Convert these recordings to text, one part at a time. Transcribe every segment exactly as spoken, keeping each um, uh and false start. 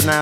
now.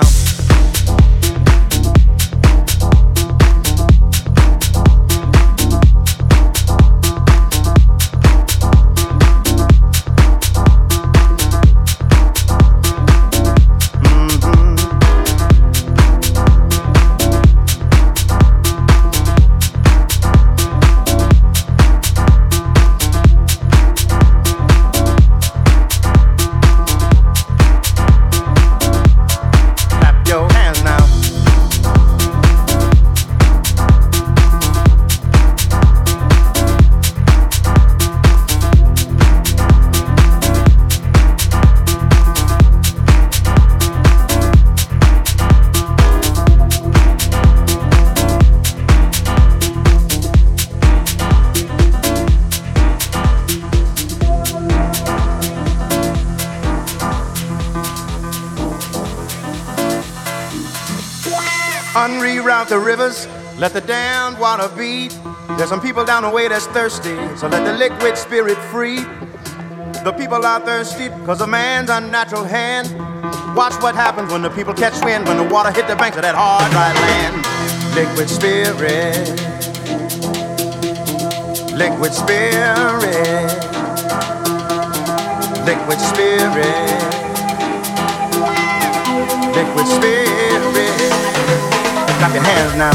Unreroute the rivers, let the damned water beat. There's some people down the way that's thirsty, so let the liquid spirit free. The people are thirsty because of man's unnatural hand. Watch what happens when the people catch wind, when the water hit the banks of that hard, dry land. Liquid spirit, liquid spirit, liquid spirit, liquid spirit. Clap your hands now.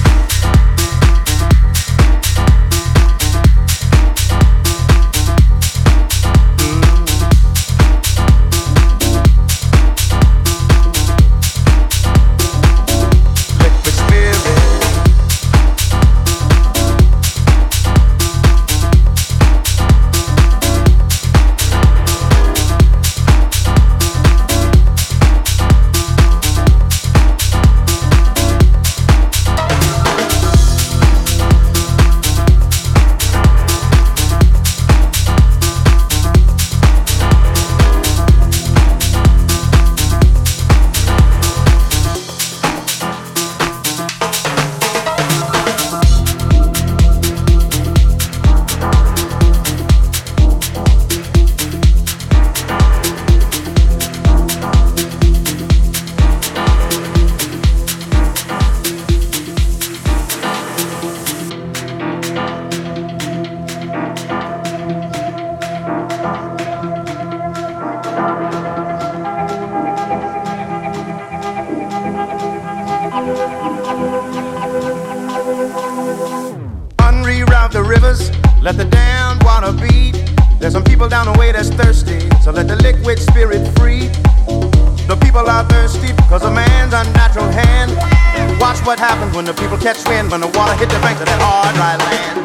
Unreroute the rivers, let the damned water beat. There's some people down the way that's thirsty, so let the liquid spirit free. The people are thirsty because of man's unnatural hand. Watch what happens when the people catch wind, when the water hit the banks of that hard, dry land.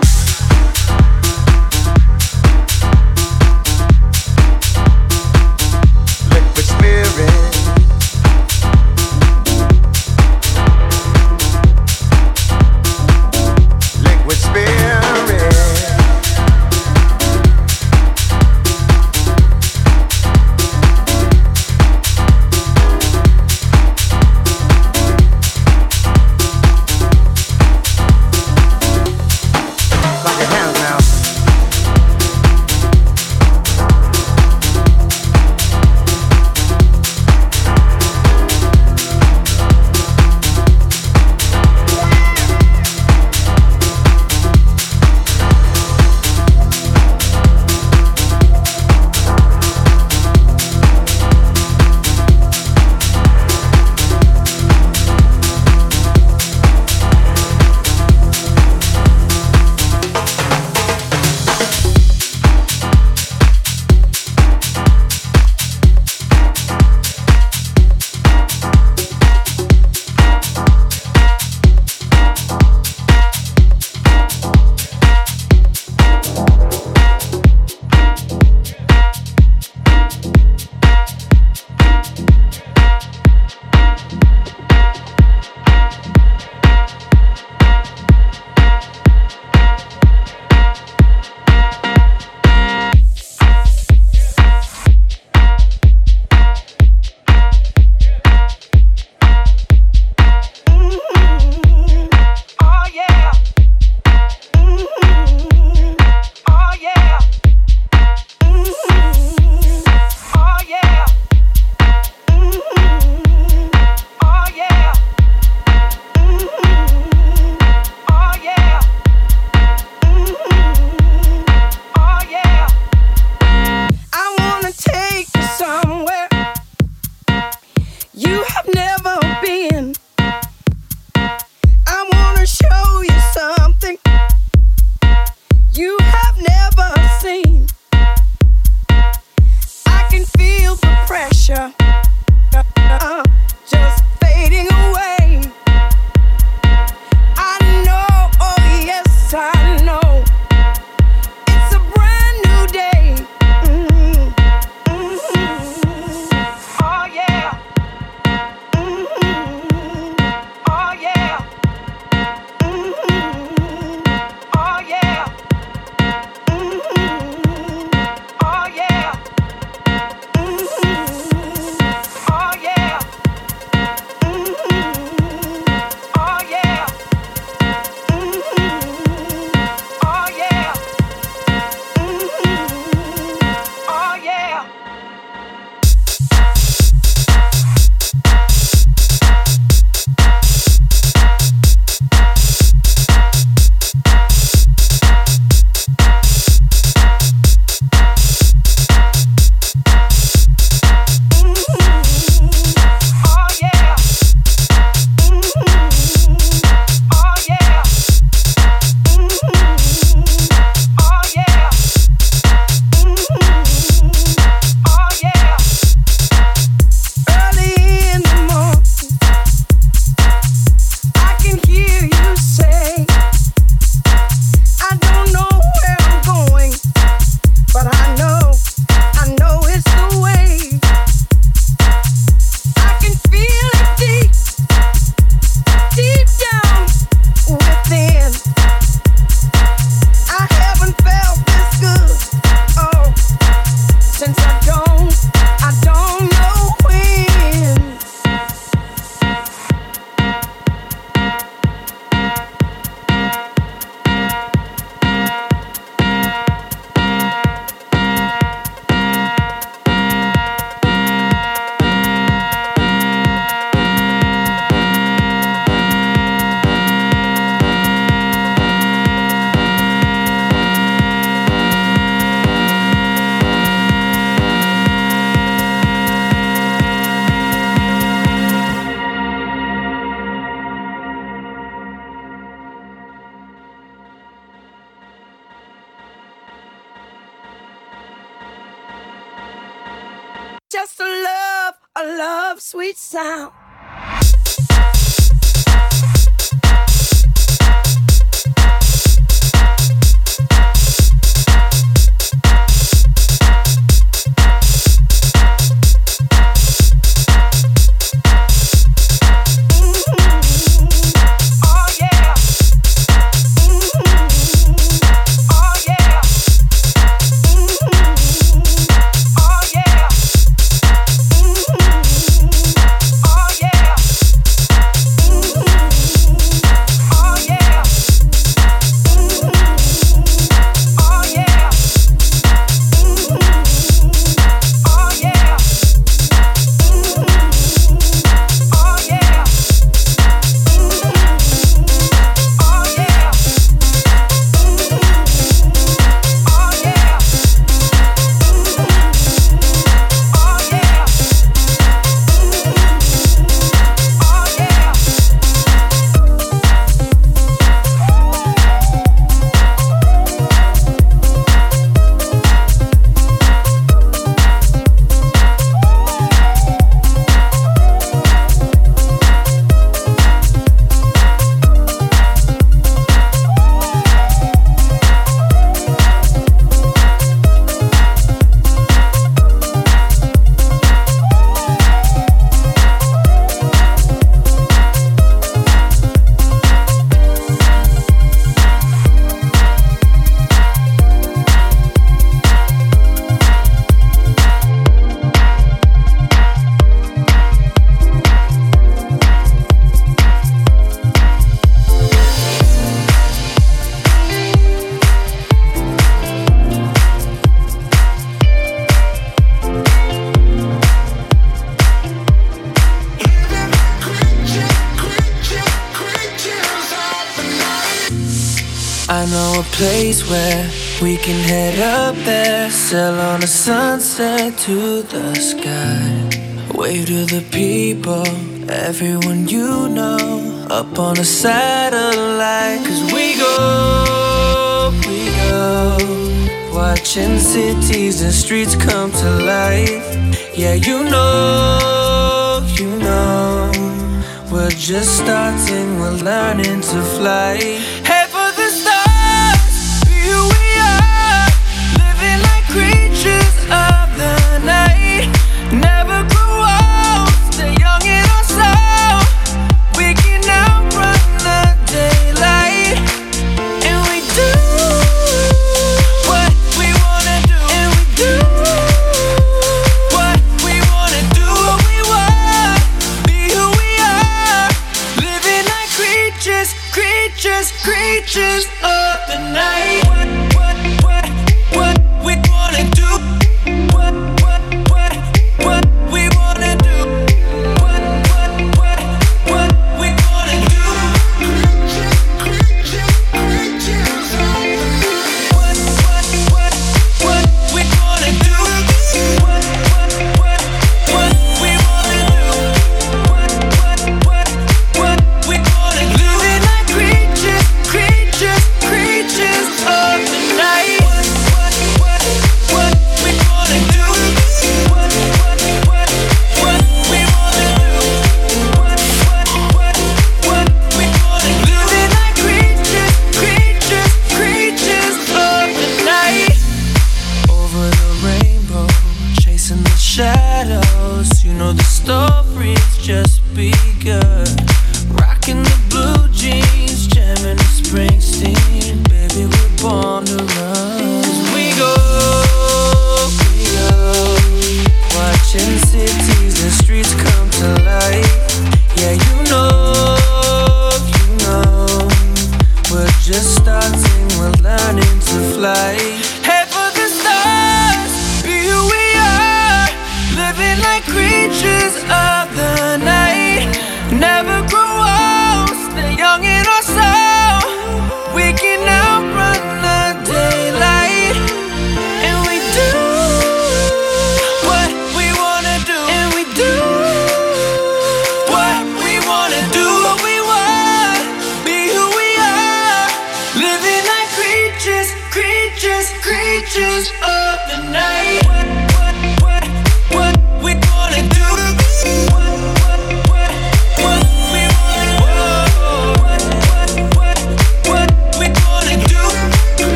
Liquid spirit, liquid spirit. love's sweet sound. I know a place where we can head up there, sail on a sunset to the sky. Wave to the people, everyone you know, up on a satellite. Cause we go, we go, watching cities and streets come to life. Yeah, you know, you know, we're just starting, we're learning to fly. Head for the stars, be who we are, living like creatures of the night. Never grow old, stay young in our soul. We can outrun the daylight, and we do what we wanna do, and we do what we wanna do, what we want, be who we are, living like creatures, creatures, creatures of the night. What, what, what, what we wanna do? What, what, what, what we wanna do? What, what, what, what we wanna do? What, what, what, what we wanna do? What, what, what, what we wanna do? What, what, what, what we wanna do? Living like creatures, creatures, creatures of the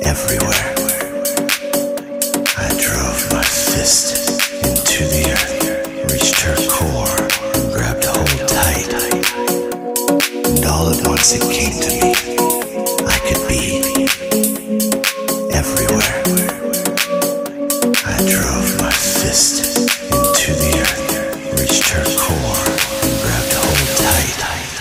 everywhere. I drove my fist into the earth, reached her core, and grabbed hold tight. And all at once it came to me, I could be everywhere. I drove my fist into the earth, reached her core, and grabbed hold tight.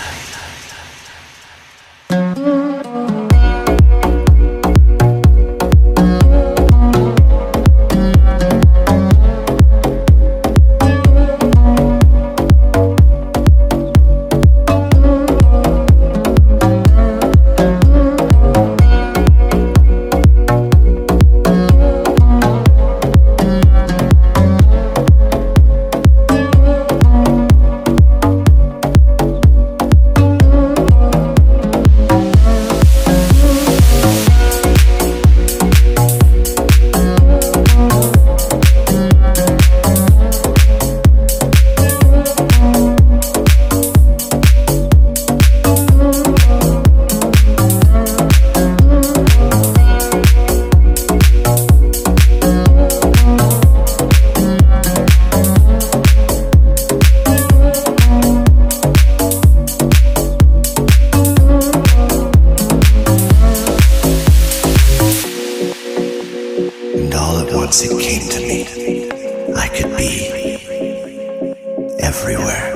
Once it came to me, I could be everywhere.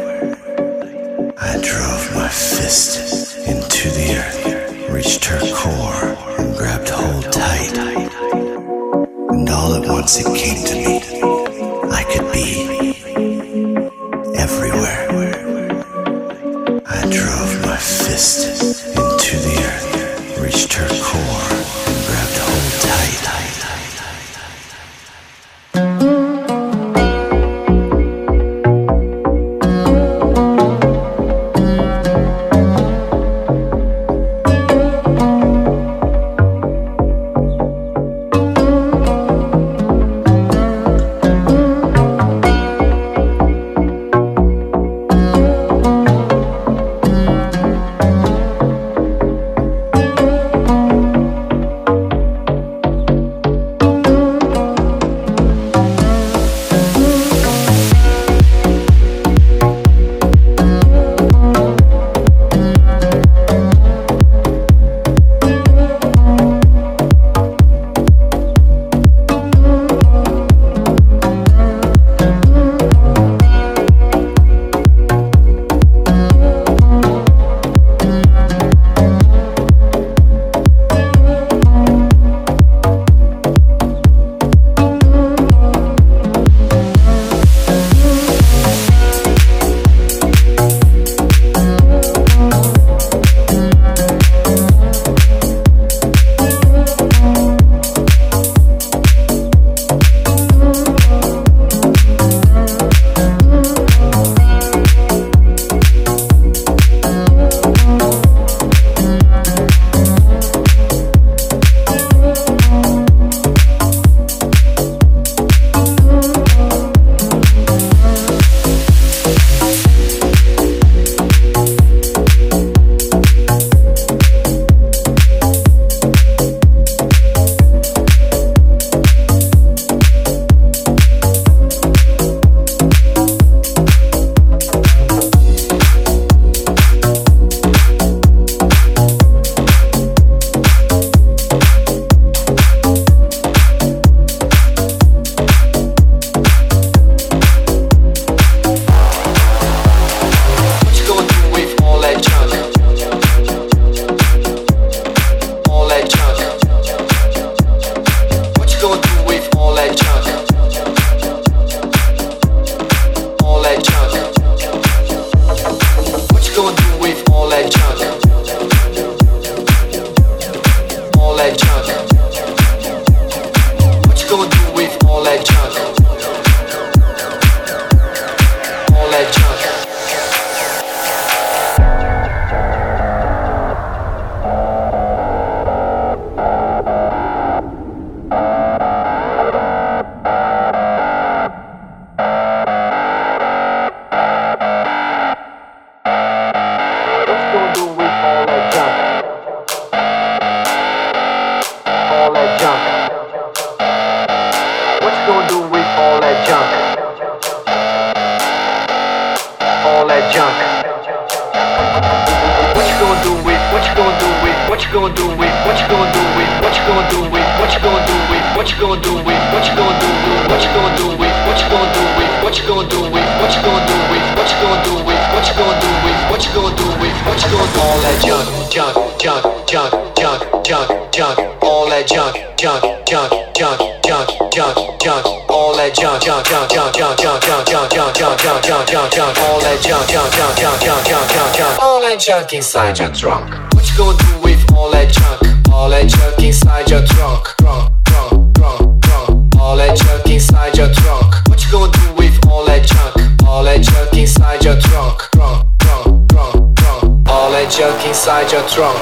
I drove my fist into the earth, reached her core, and grabbed hold tight. And all at once it came to me, I could be everywhere. I drove my fist into the earth, reached her core, and grabbed hold tight. gonna do with, what you gonna do with, what you gonna do with, what you gonna do with, what you gonna do with, what you gonna do with, what you gonna do with, what you gonna do with, what you gonna do with, what you gonna do all that junk, junk, junk, junk, junk, junk, junk, all that junk, junk, junk, junk, junk, junk, junk, all that junk, junk, junk, junk, junk, junk, junk, junk, junk, junk, junk, junk, junk, junk, all that junk, junk, junk, junk, junk, junk, junk, junk, all that junk inside your trunk. What you gonna do with all that junk? All that junk inside your trunk, trunk, trunk, trunk, trunk. All that junk inside your trunk. What you gonna do with all that junk? All that junk inside your trunk, trunk, trunk, trunk, trunk. All that junk inside your trunk.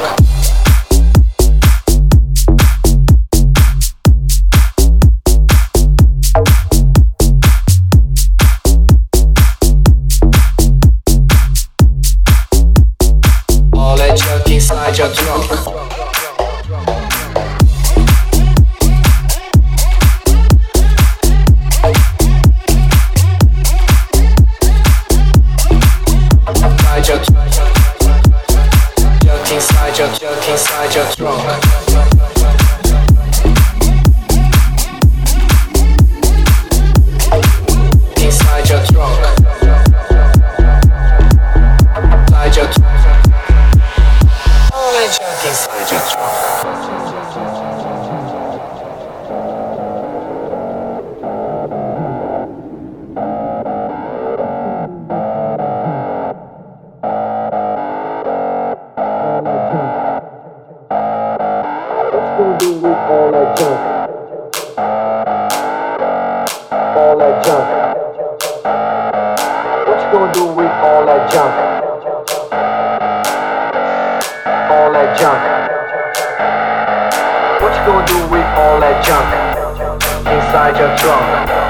All that junk inside your trunk. Inside your, junk inside your trunk. Inside your trunk. Inside your trunk. All that junk inside your trunk. All that junk, all that junk. What you gonna do with all that junk? All that junk. What you gonna do with all that junk inside your trunk?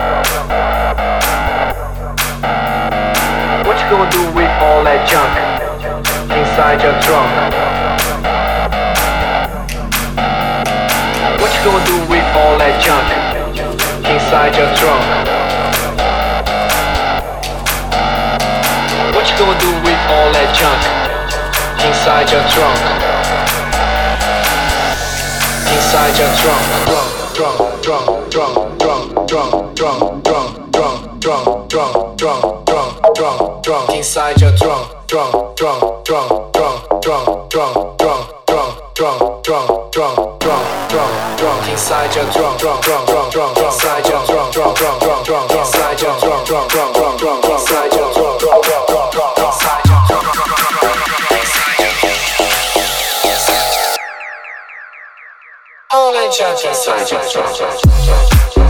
What you gonna do with all that junk inside your trunk? What you gonna do with all that junk inside your trunk? What you gonna do with all that junk inside your trunk? Inside your trunk, trunk, trunk, trunk, trunk, trunk, trunk, trunk, trunk, trunk, trunk, trunk, trunk, trunk, trunk, inside your trunk, trunk, trunk, trunk, trunk, trunk, trunk, trunk, trunk, trunk, trunk, trunk, trunk, trunk, trunk, inside your trunk, trunk, trunk, trunk, trunk, inside your trunk, trunk, trunk, trunk, trunk, inside your trunk, trunk, trunk, trunk, trunk, inside your trunk, trunk, trunk, trunk, trunk, inside your trunk, trunk, trunk, all that junk inside your trunk.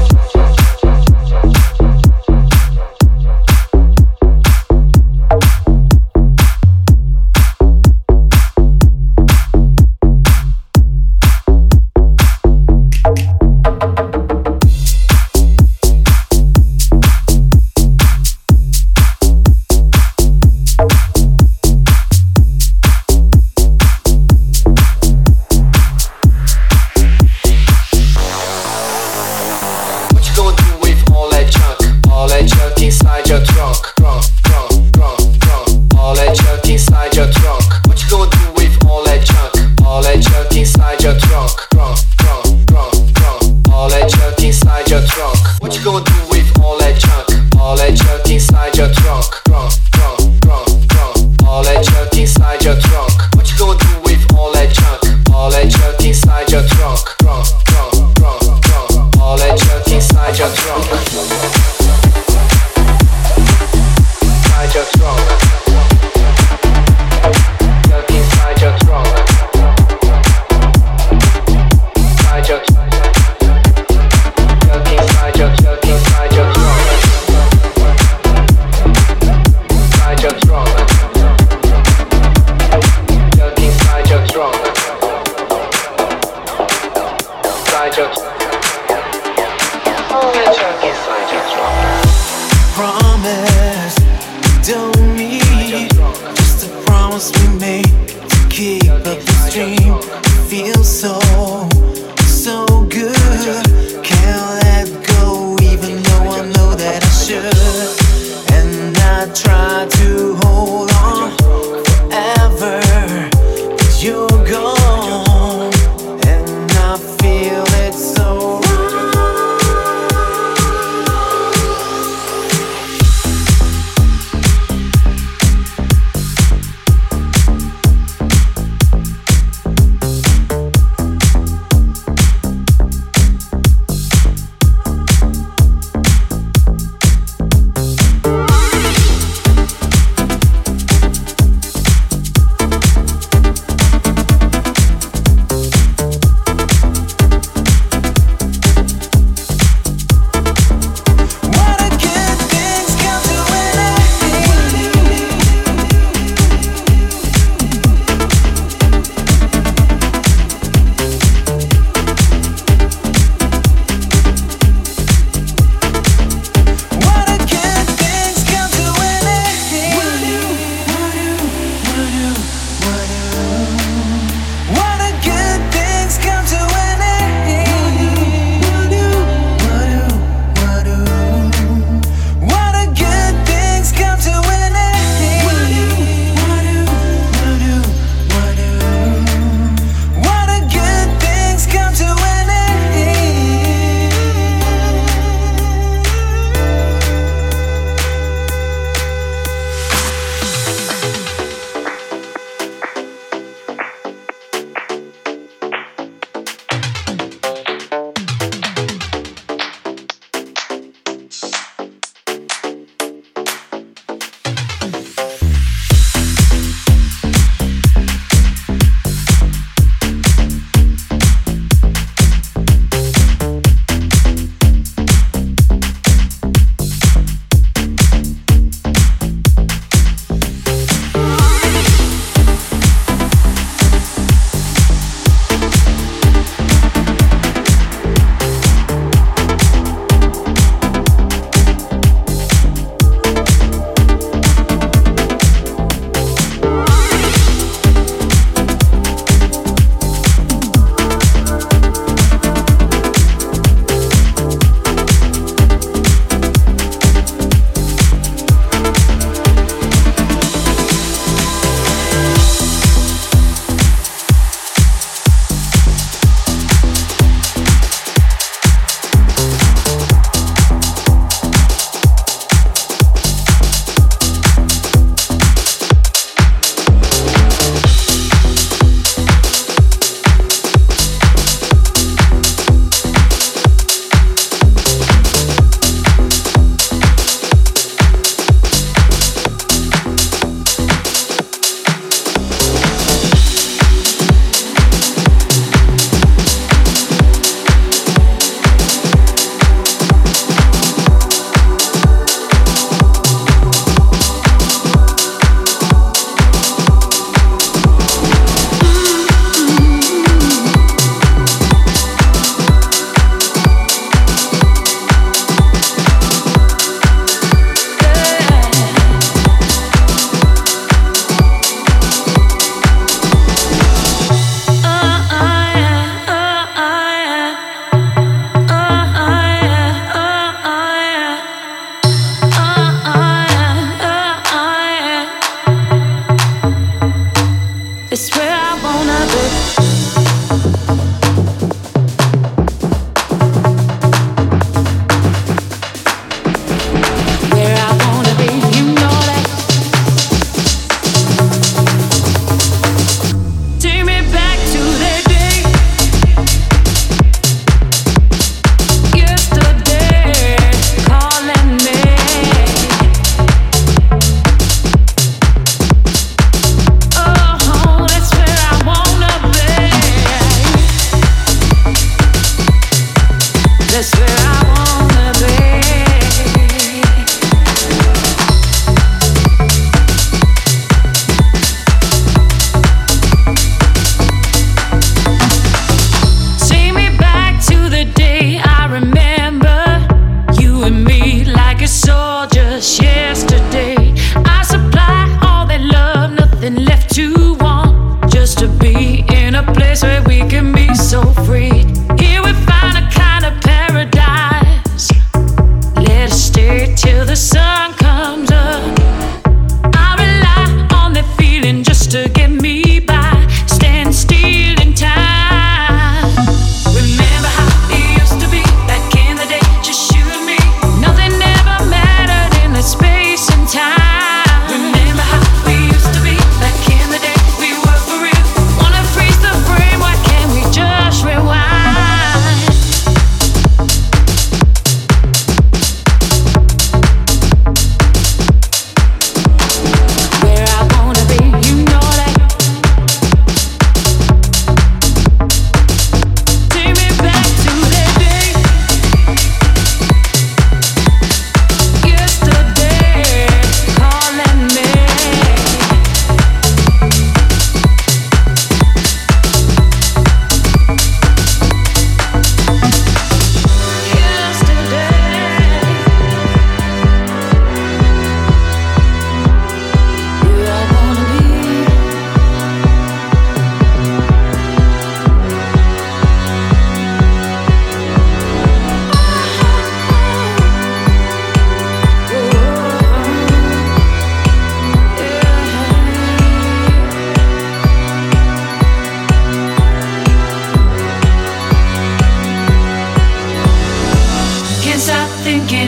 Promise, don't need just a promise we made to keep up this dream. Feels so, so good. Can't let go, even though I know that I should. And I try to hold on forever, but you're gone, and I feel it so wrong.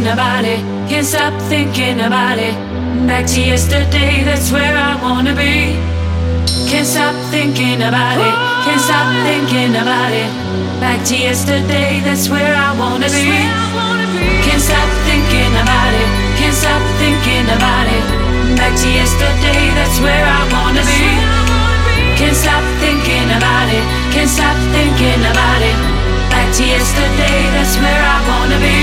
thinking about it. Can't stop thinking about it. Back to yesterday, that's where I wanna be. Can't stop thinking about it. Can't stop thinking about it. Back to yesterday, that's where I wanna be. Can't stop thinking about it. Can't stop thinking about it. Back to yesterday, that's where I wanna be. Can't stop thinking about it. Can't stop thinking about it. Back to yesterday, that's where I wanna be.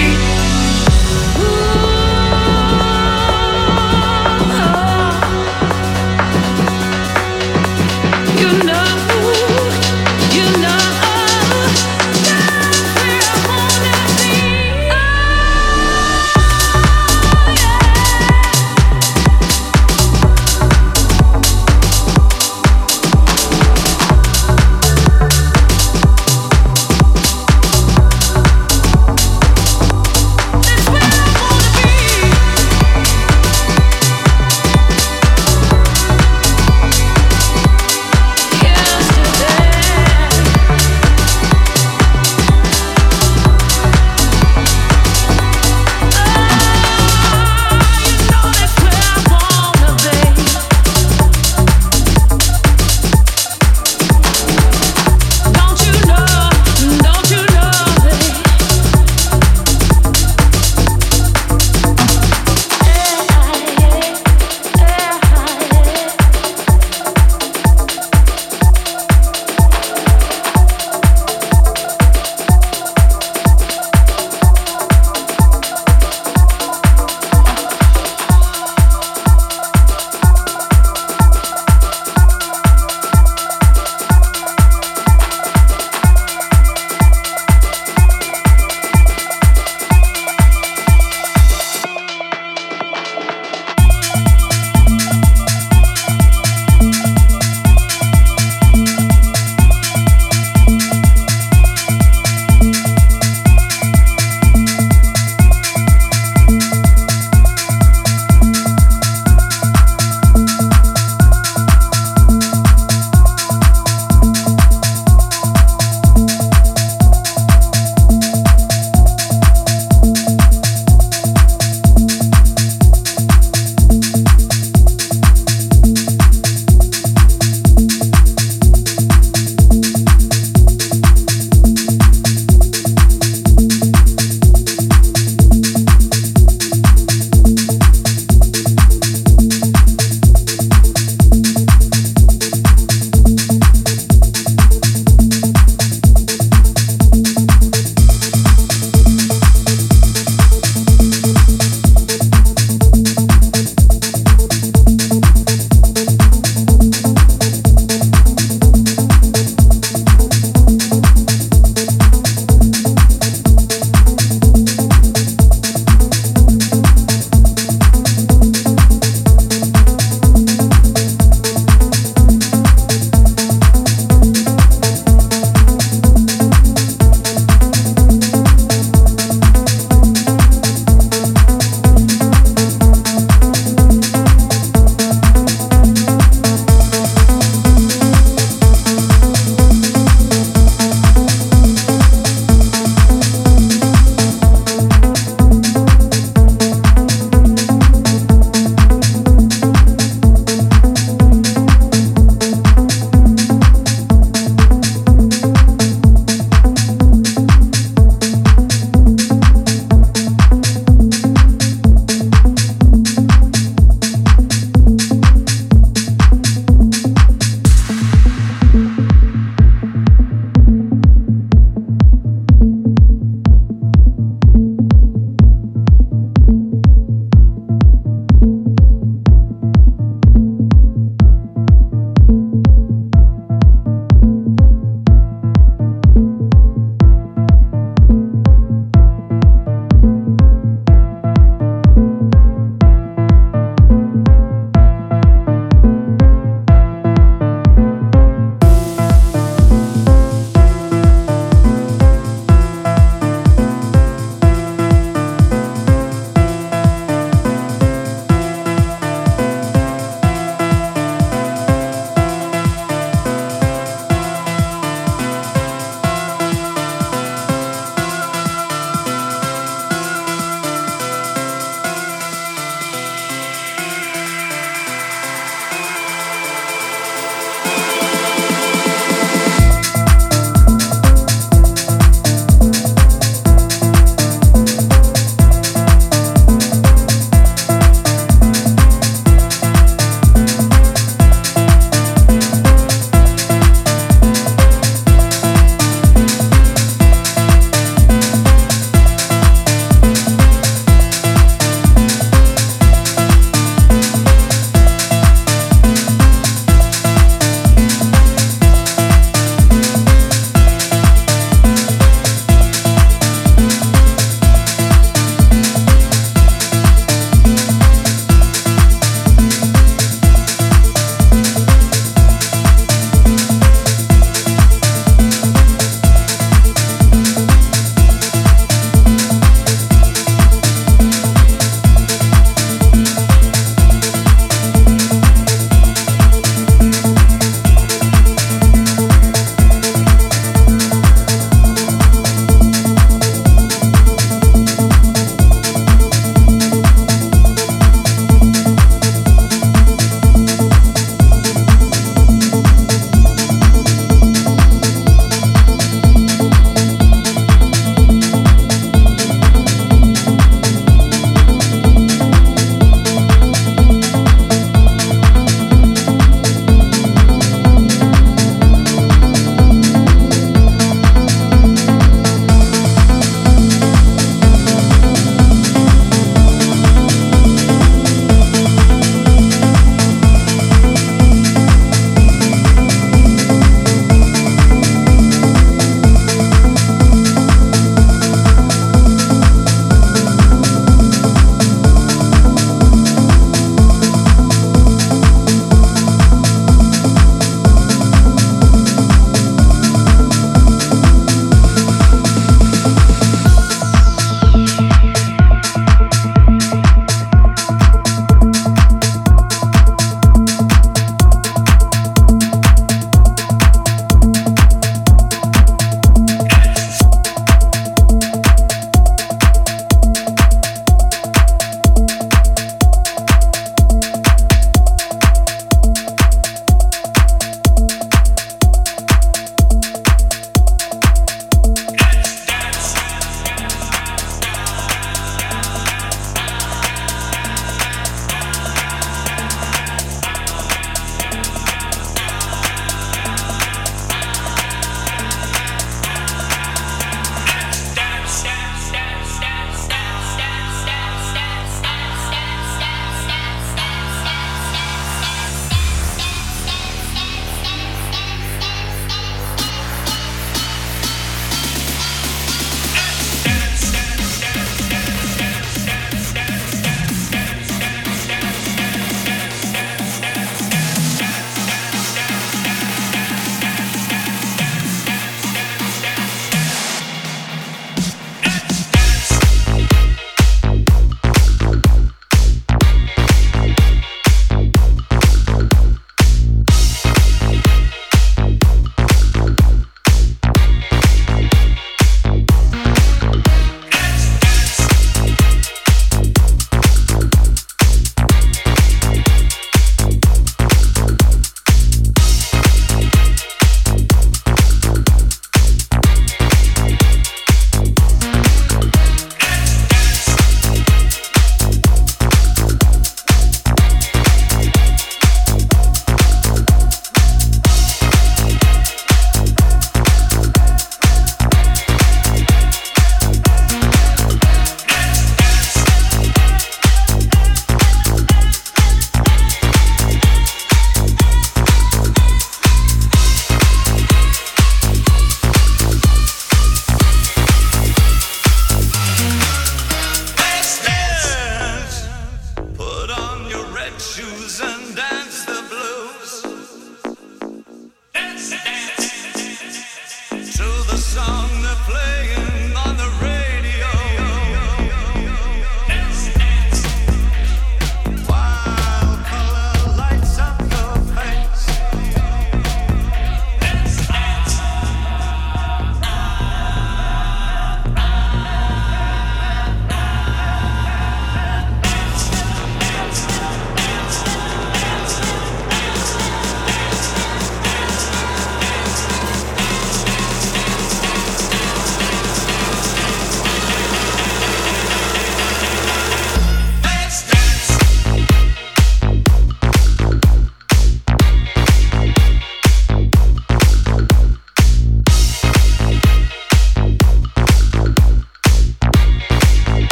You know, you know, that's where I wanna be.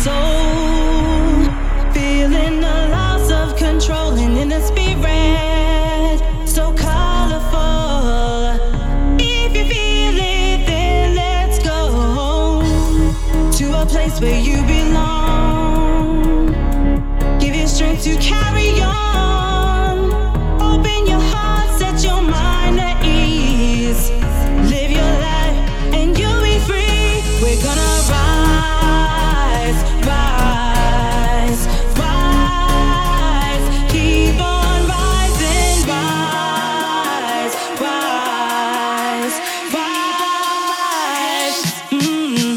soul, feeling the loss of control, and in the spirit, so colorful. If you feel it, then let's go to a place where you belong. Give you strength to carry on. Open your heart, set your mind at ease. Live your life and you'll be free. We're gonna rise, rise, rise. Keep on rising, rise, rise, rise. Mm-hmm.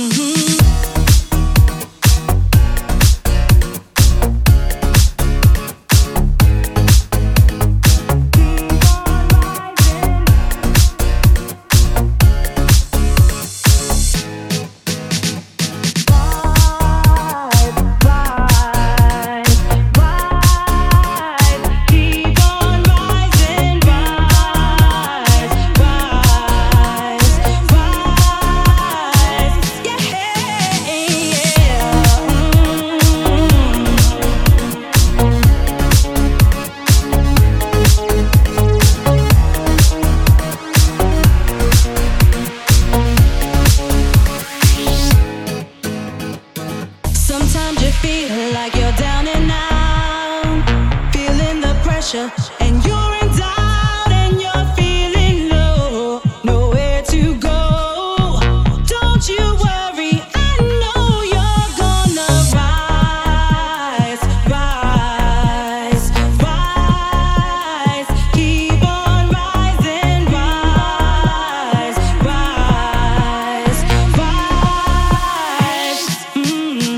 Sometimes you feel like you're down and out, feeling the pressure, and you're in doubt, and you're feeling low, nowhere to go. Don't you worry, I know you're gonna rise, rise, rise. Keep on rising, rise, rise, rise. Mm-hmm.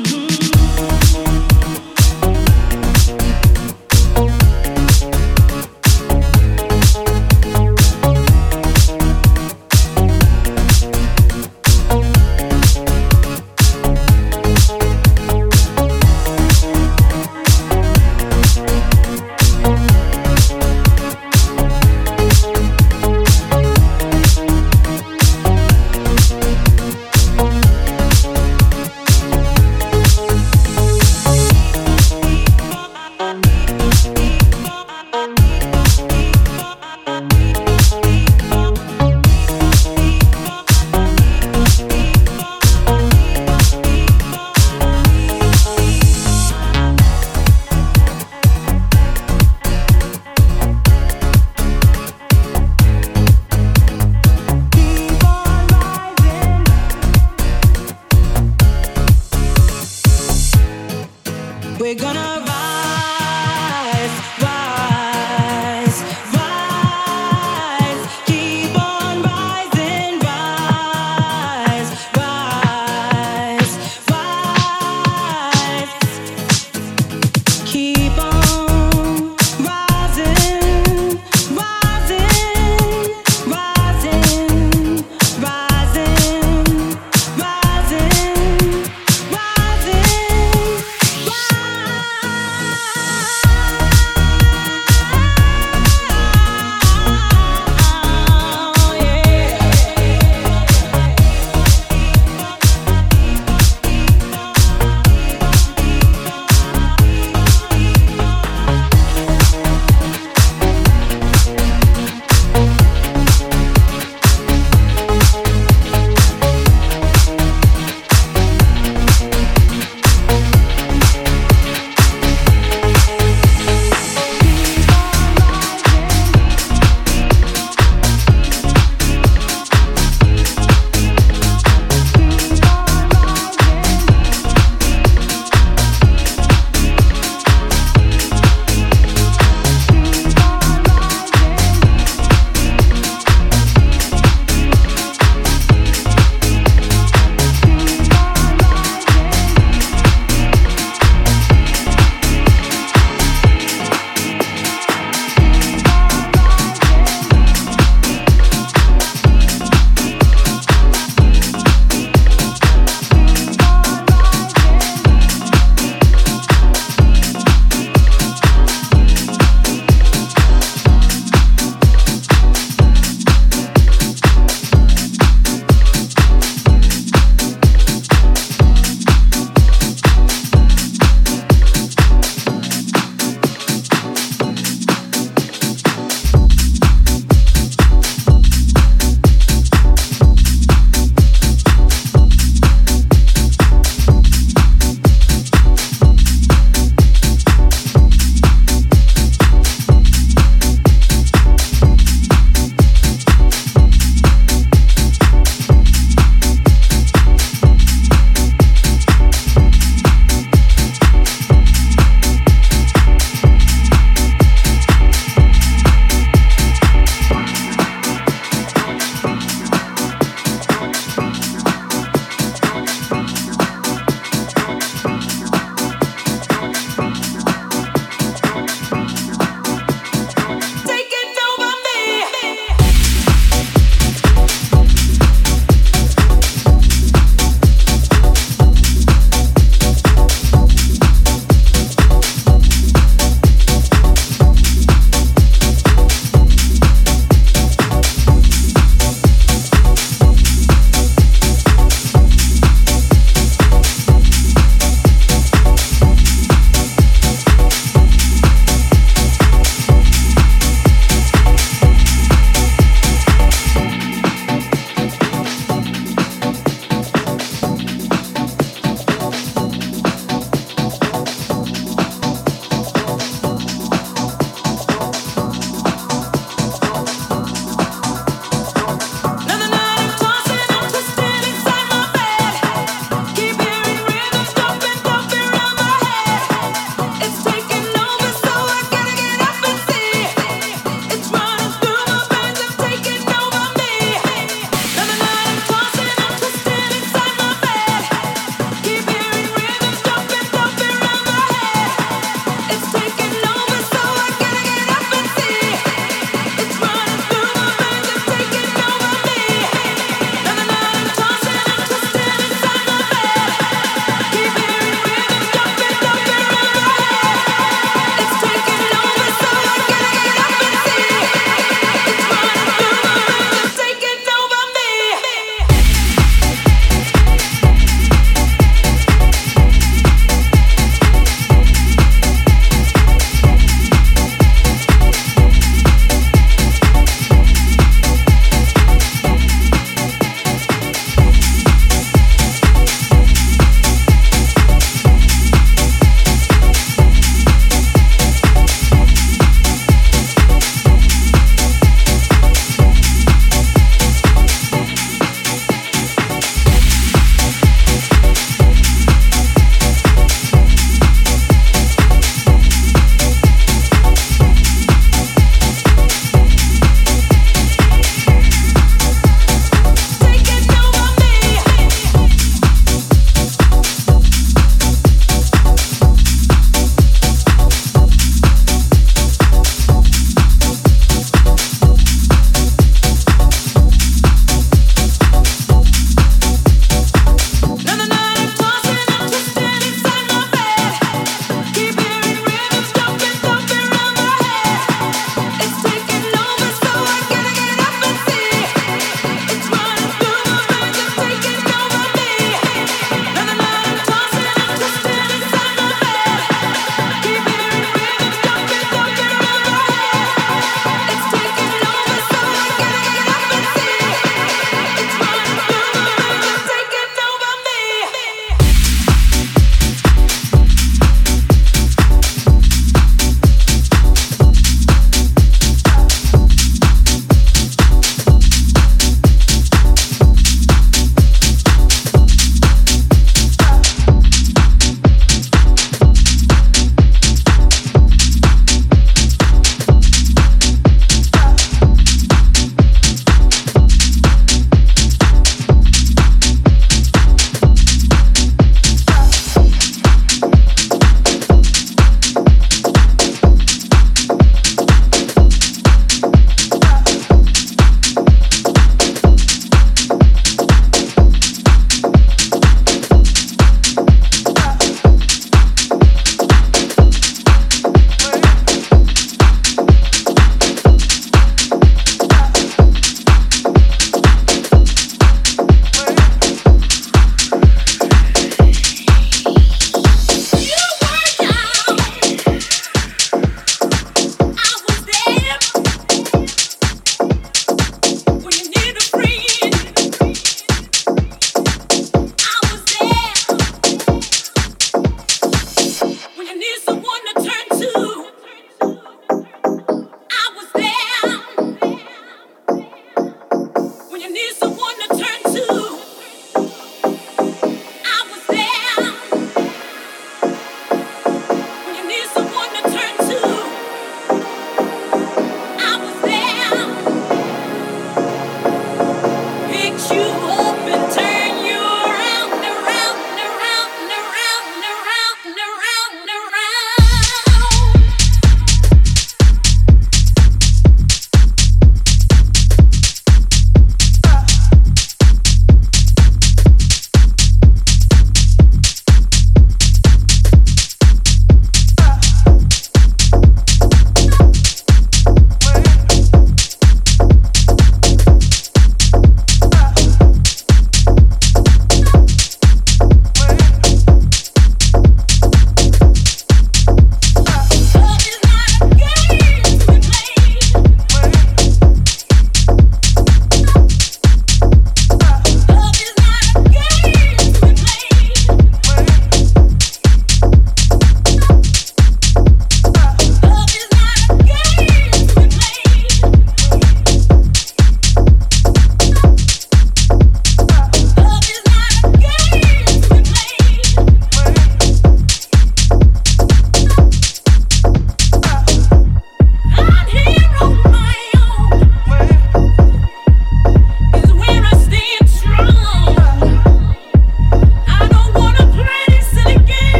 We're gonna rise, rise, rise. Keep on rising, rise, rise, rise. Keep